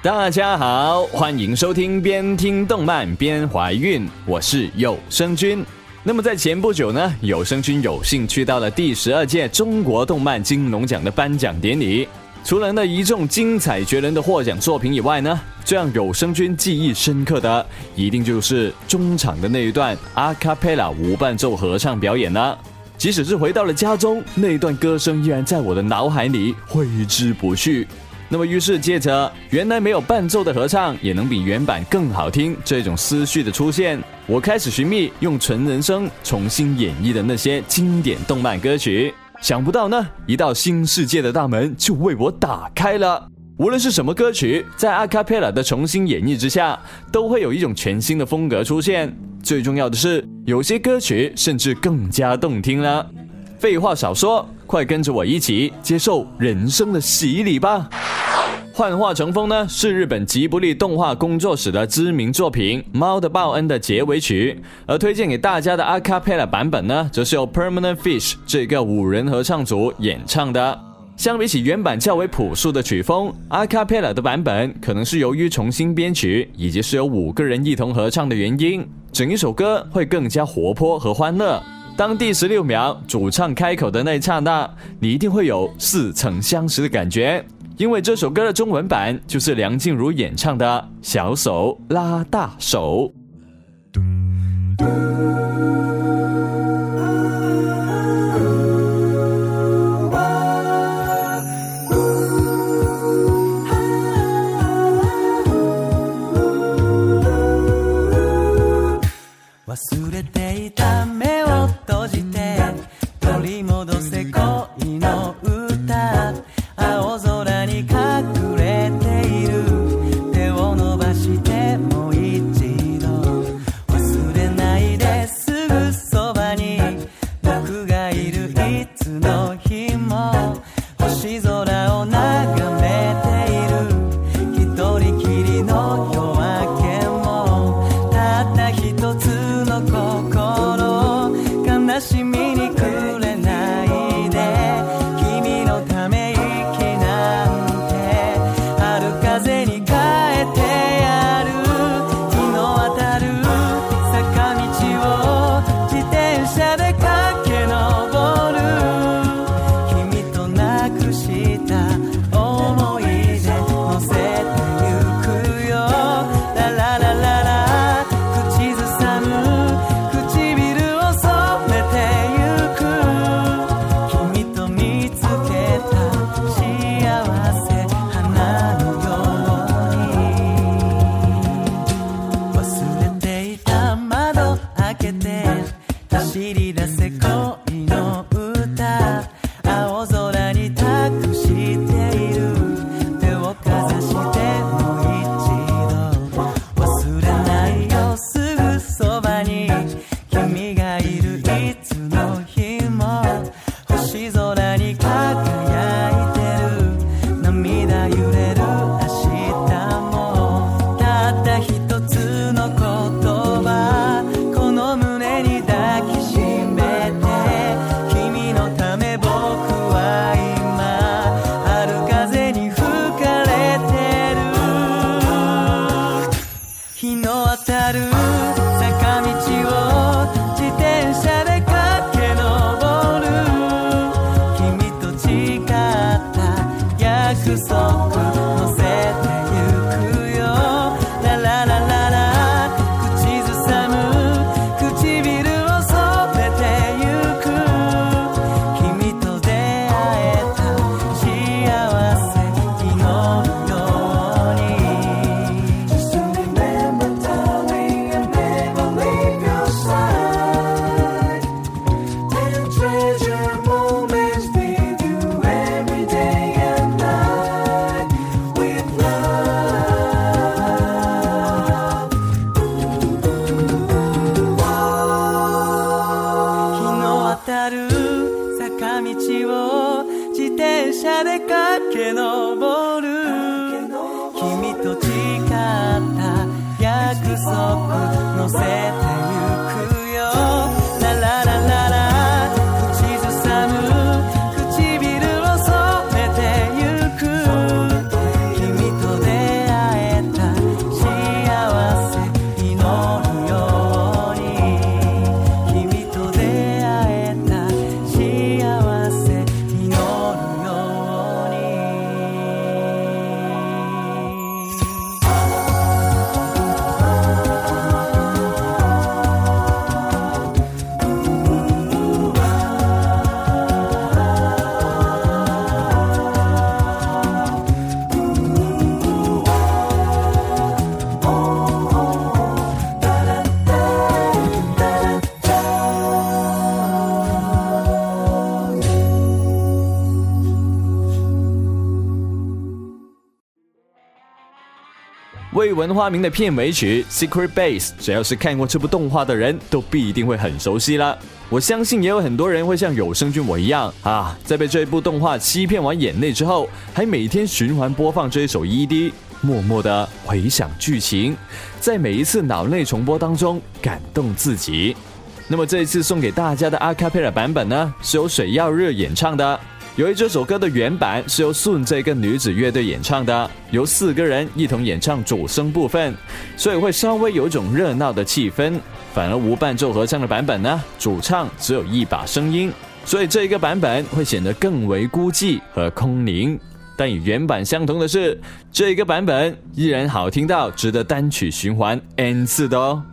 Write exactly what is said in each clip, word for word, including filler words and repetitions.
大家好，欢迎收听边听动漫边怀孕，我是有声君。那么在前不久呢，有声君有幸去到了第十二届中国动漫金龙奖的颁奖典礼。除了那一众精彩绝伦的获奖作品以外呢，最让有声君记忆深刻的，一定就是中场的那一段阿卡贝拉无伴奏合唱表演了。即使是回到了家中，那一段歌声依然在我的脑海里挥之不去。那么于是借着原来没有伴奏的合唱也能比原版更好听这种思绪的出现，我开始寻觅用纯人声重新演绎的那些经典动漫歌曲。想不到呢，一道新世界的大门就为我打开了。无论是什么歌曲，在阿卡贝拉的重新演绎之下，都会有一种全新的风格出现。最重要的是，有些歌曲甚至更加动听了。废话少说，快跟着我一起接受人生的洗礼吧。幻化成风呢，是日本吉卜力动画工作室的知名作品《猫的报恩》的结尾曲，而推荐给大家的阿卡贝拉版本呢，则是由 Permanent Fish 这个五人合唱组演唱的。相比起原版较为朴素的曲风，阿卡贝拉的版本可能是由于重新编曲以及是由五个人一同合唱的原因，整一首歌会更加活泼和欢乐。当第十六秒主唱开口的那一刹那，你一定会有似曾相识的感觉，因为这首歌的中文版就是梁静茹演唱的《小手拉大手》。 忘れていた目を閉じて取り戻せ恋の歌、青空に隠れている手を伸ばしてもう一度忘れないですぐそばに僕がいるいつの日も星空を眺めている一人きりの夜明けもたった一つ悲しみにくれないで君のため息なんて春風に変えてやる日の当たる坂道を自転車で駆け上る君となくした思い出乗せてゆくよラララララ口ずさむ走り出せ恋の歌、青空に託している手をかざしてもう一度忘れないよすぐそばに君がいるいつの日も星空に輝いてる涙揺れる明日もたった一つの言葉この胸に抱きしめて君のため僕は今春風に吹かれてる日の当たる坂道を自転車で駆け上る君と誓った約束乗せてゆくよラララララ口ずさむ唇を染めてゆく君と出会えた幸せ祈るように Just remember darling I never leave your side and treasure moments with you every day and night 未闻花名的片尾曲 Secret Base， 只要是看过这部动画的人都必定会很熟悉了。我相信也有很多人会像有声君我一样啊，在被这一部动画欺骗完眼泪之后，还每天循环播放这一首 E D， 默默的回想剧情，在每一次脑内重播当中感动自己。那么这一次送给大家的阿卡贝拉版本呢，是由水曜日演唱的。由于这首歌的原版是由 Soon 这个女子乐队演唱的，由四个人一同演唱主声部分，所以会稍微有一种热闹的气氛。反而无伴奏合唱的版本呢，主唱只有一把声音，所以这一个版本会显得更为孤寂和空灵。但与原版相同的是，这一个版本依然好听到值得单曲循环 N 次的哦。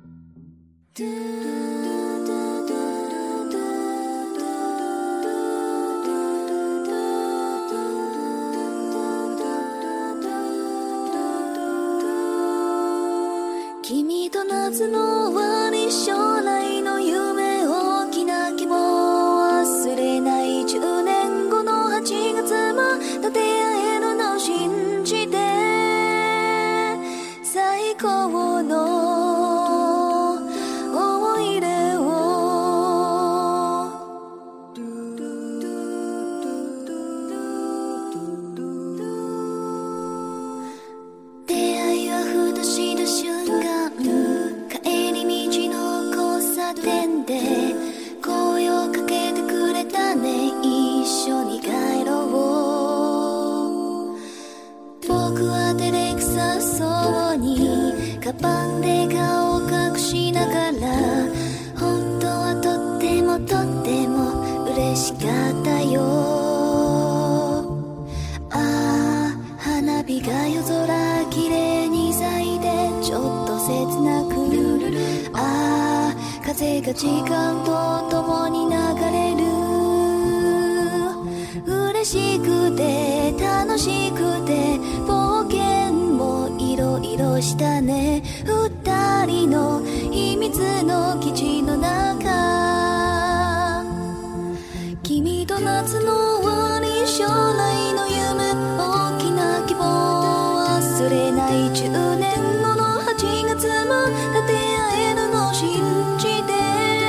君と夏の終わり将来の夢大きな希望忘れないじゅうねんごのはちがつまた出会えるのを信じて最高の思い出を出会いはふとした瞬間帰り道の交差点で声をかけてくれたね一緒に帰ろう僕は照れくさそうにカバンで顔を隠しながら本当はとってもとっても嬉しかったよああ花火が夜空きれいに咲いてちょっと切なくああ風が時間とともに流れる嬉しくて楽しくて冒険もいろいろしたね二人の秘密の基地の中君と夏の終わり将来の夢大きな希望忘れないじゅうねんごのはちがつまた出会えるのを信じて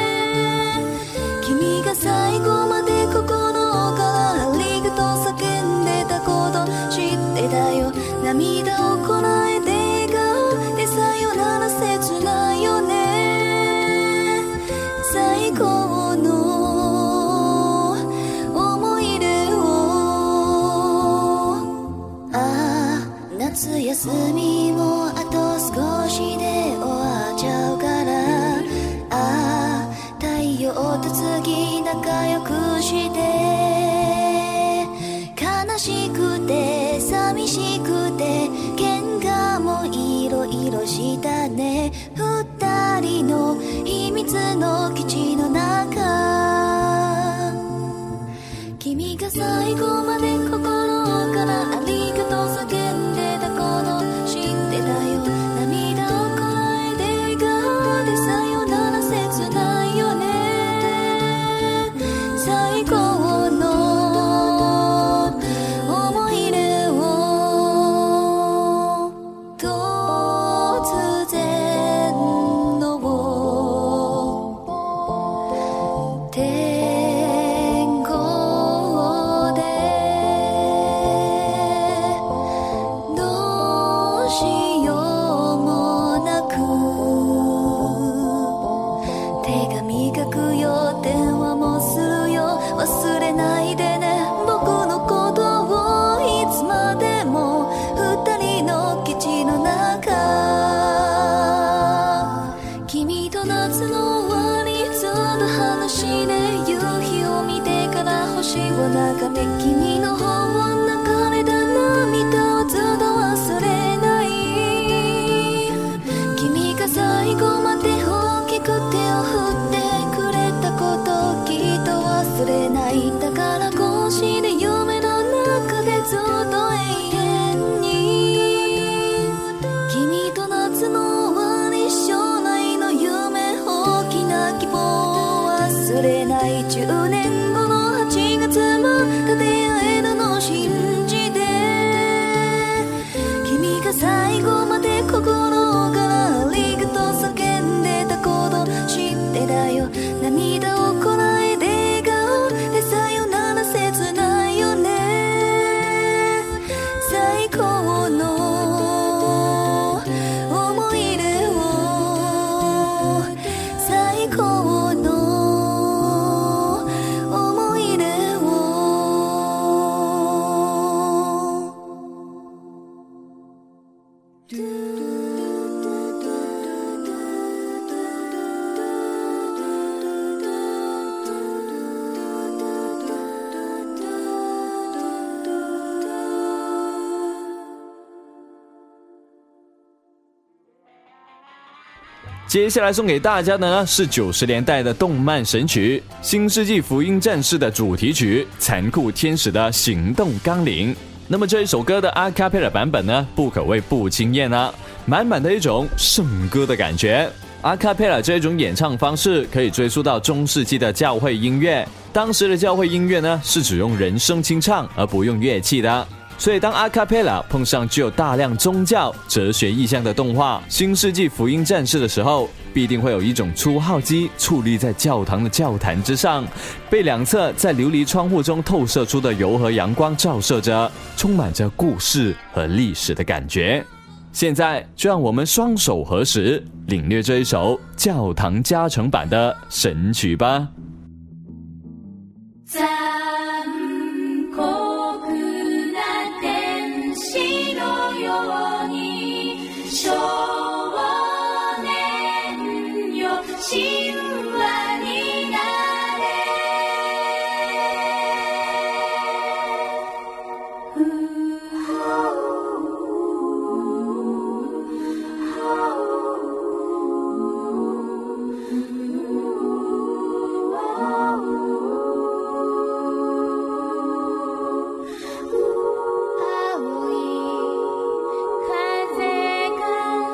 君が最後まで心からありがとう叫んでたこと知ってたよ涙をこらえて笑顔でさよなら切ないよね最高の思い出をああ夏休みもあと少しで終わっちゃうからああ太陽と月仲良くして悲しくて寂しくて喧嘩もいろいろしたね二人の秘密の基地の中君が最後まで心からありがとう叫んでたこと知ってたよ涙をこらえて笑顔でさよなら切ないよね最高の思い出を突然の天候でどうしようもなく手紙書くよ電話もするよ忘れないでね僕のことをいつまでも二人の基地の中君と夏の終わりずっと話で夕日を見てから星を眺め君の方を流れた涙をずっと忘れない君が最後まで大きく手を振ってくれたこときっと忘れないだからこうして夢の中でずっと永遠に君と夏の終わり将来の夢大きな希望忘れないじゅうねんごのはちがつまた出会えるのを信じて君が最後まで接下来送给大家的呢是九十年代的动漫神曲《新世纪福音战士》的主题曲《残酷天使的行动纲领》。那么这一首歌的阿卡贝拉版本呢，不可谓不惊艳啊，满满的一种圣歌的感觉。阿卡贝拉这种演唱方式可以追溯到中世纪的教会音乐，当时的教会音乐呢是只用人声清唱而不用乐器的，所以当阿卡贝拉碰上具有大量宗教哲学意象的动画《新世纪福音战士》的时候，必定会有一种初号机矗立在教堂的教坛之上，被两侧在琉璃窗户中透射出的柔和阳光照射着，充满着故事和历史的感觉。现在就让我们双手合十，领略这一首教堂加成版的神曲吧。 青い風が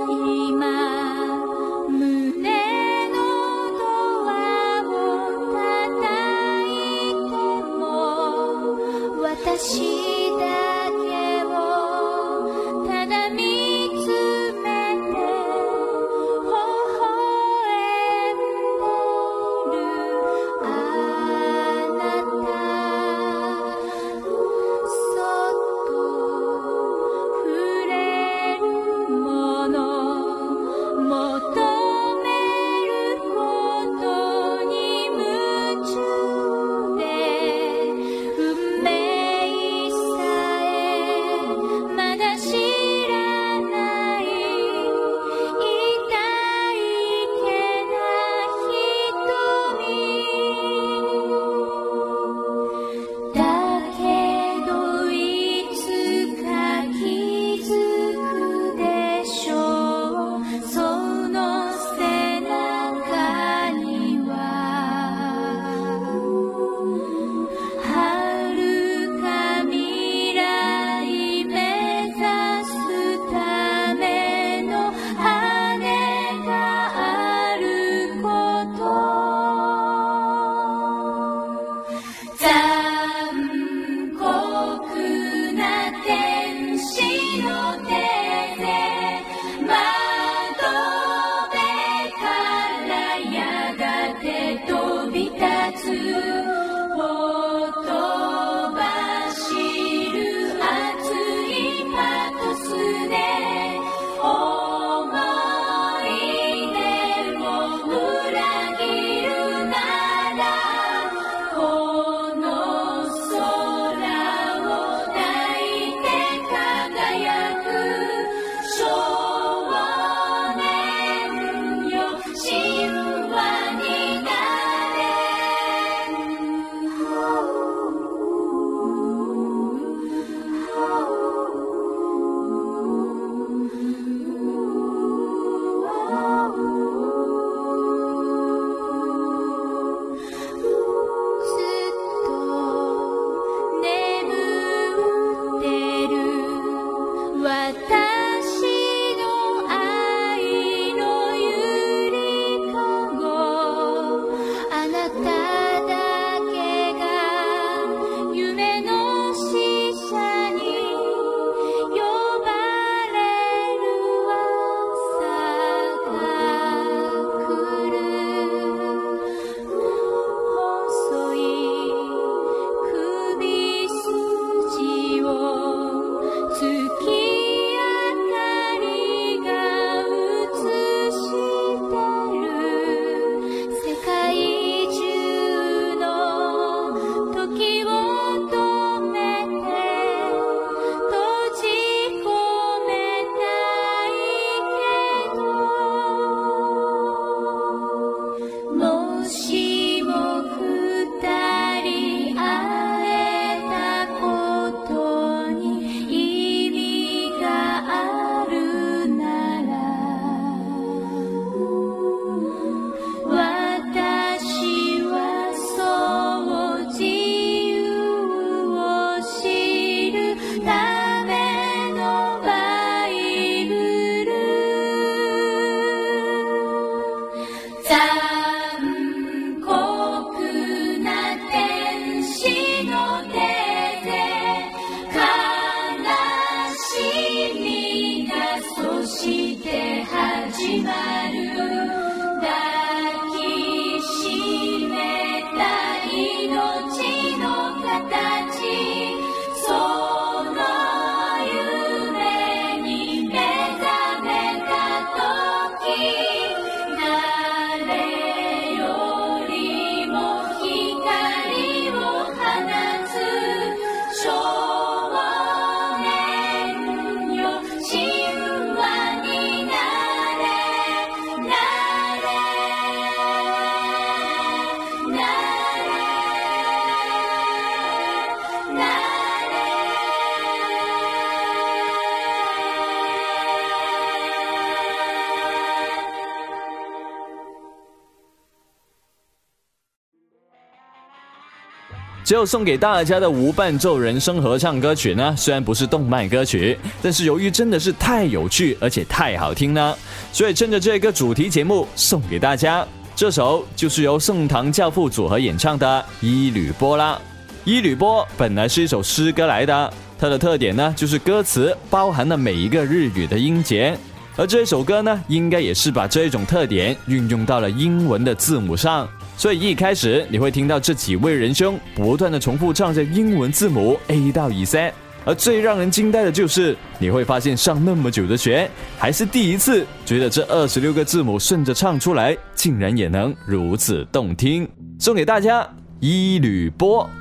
只有送给大家的无伴奏人声合唱歌曲呢，虽然不是动漫歌曲，但是由于真的是太有趣而且太好听呢，所以趁着这个主题节目送给大家。这首就是由盛唐教父组合演唱的《伊吕波》啦。伊吕波本来是一首诗歌来的，它的特点呢就是歌词包含了每一个日语的音节，而这首歌呢应该也是把这种特点运用到了英文的字母上。所以一开始你会听到这几位仁兄不断的重复唱着英文字母 A 到 Z， 而最让人惊呆的就是你会发现上那么久的学还是第一次觉得这二十六个字母顺着唱出来竟然也能如此动听。送给大家伊吕波。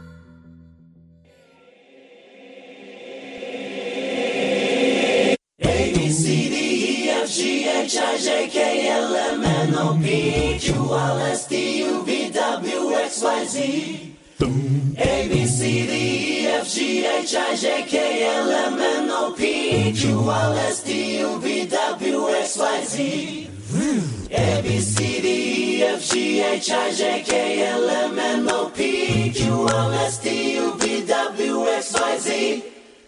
H I J K L M N O P Q R S T U V W X Y Z A B C D E F G H I J K L M N O P Q R S T U V W X Y Z A B C D E F G H I J K L M N O P Q R S T U V W X Y Z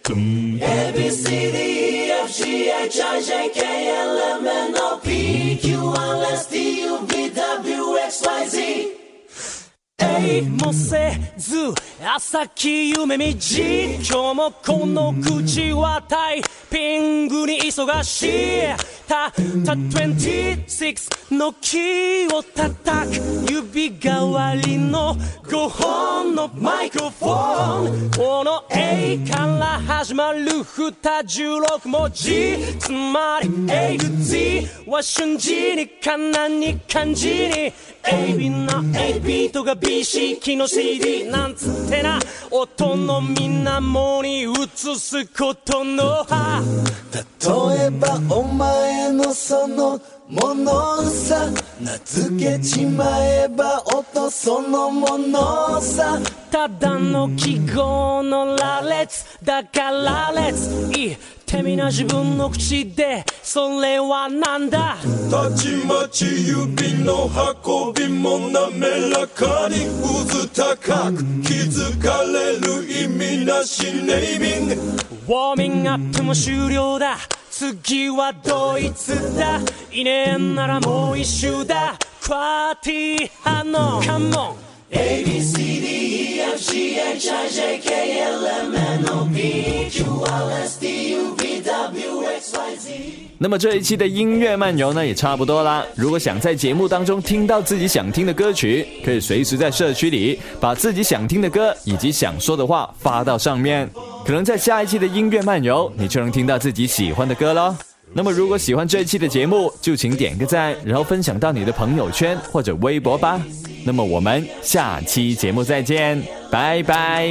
A B C D E F G H I J K L M N O P Q R S T U V W X Y Z えいもせず朝き夢見じ今日もこの口はタイピングに忙しいたったにじゅうろくのキーを叩く指代わりのごほんのマイクロフォンこの A から始まるにじゅうろく文字つまり A to Z は瞬時にかなに漢字に エービー な エービー とが ビーシー 機の シーディー なんつってな音のみなもに移すことの葉例えばお前のそのものさ名付けちまえば音そのものさただの記号の羅列だから列言ってみな自分の口でそれはなんだたちまち指の運びも滑らかに渦高く気づかれる意味なしネーミングウォーミングアップも終了だ次はドイツだいねえんならもう一周だクワティハのカモンA B C D E F G H I J K L M N O P Q R S T U V W X Y Z 那么这一期的音乐漫游呢也差不多啦。如果想在节目当中听到自己想听的歌曲，可以随时在社区里把自己想听的歌以及想说的话发到上面，可能在下一期的音乐漫游你就能听到自己喜欢的歌咯。那么如果喜欢这一期的节目，就请点个赞，然后分享到你的朋友圈或者微博吧。那么我们下期节目再见，拜拜。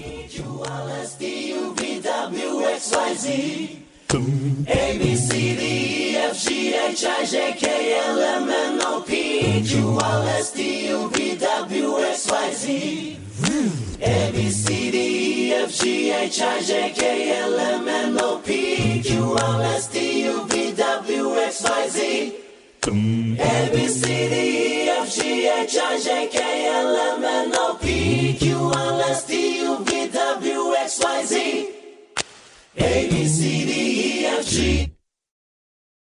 A B C D E F G H I J K L M N O P Q R S T U V W X Y Z A B C D E F G H I J K L M N O P Q R S T U V W X Y Z A B C D E F G H I J K L M N O P Q R S T U V W X Y Z A B C D E F G